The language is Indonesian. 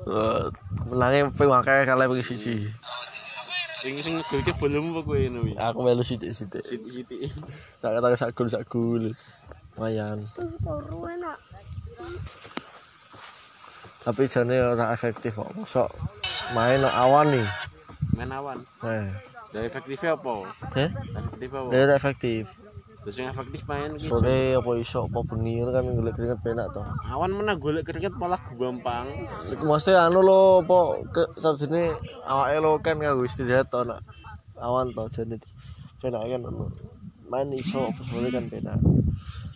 Menangnya ping akeh kalah ping siji. Sing ngegolke bolemu apa kowe ngono wi? Aku melu sithik-sithik. Sithik-sithik. Tak kata sak gol. Lumayan. Turu enak. Tapi jane ora efektif kok. Mosok main awan nih. Main awan. Nah, Efektifnya apa? Efektif apa? Dia efektif. Terus yang efektif main iki. Sore apa iso apa bengi kan golek keringet penak to. Awan menah golek keringet malah gampang. Mesti anu lho apa sajene awake lo kan kanggo istirahat to nak awan to jane penak kan main iso apa sore kan penak.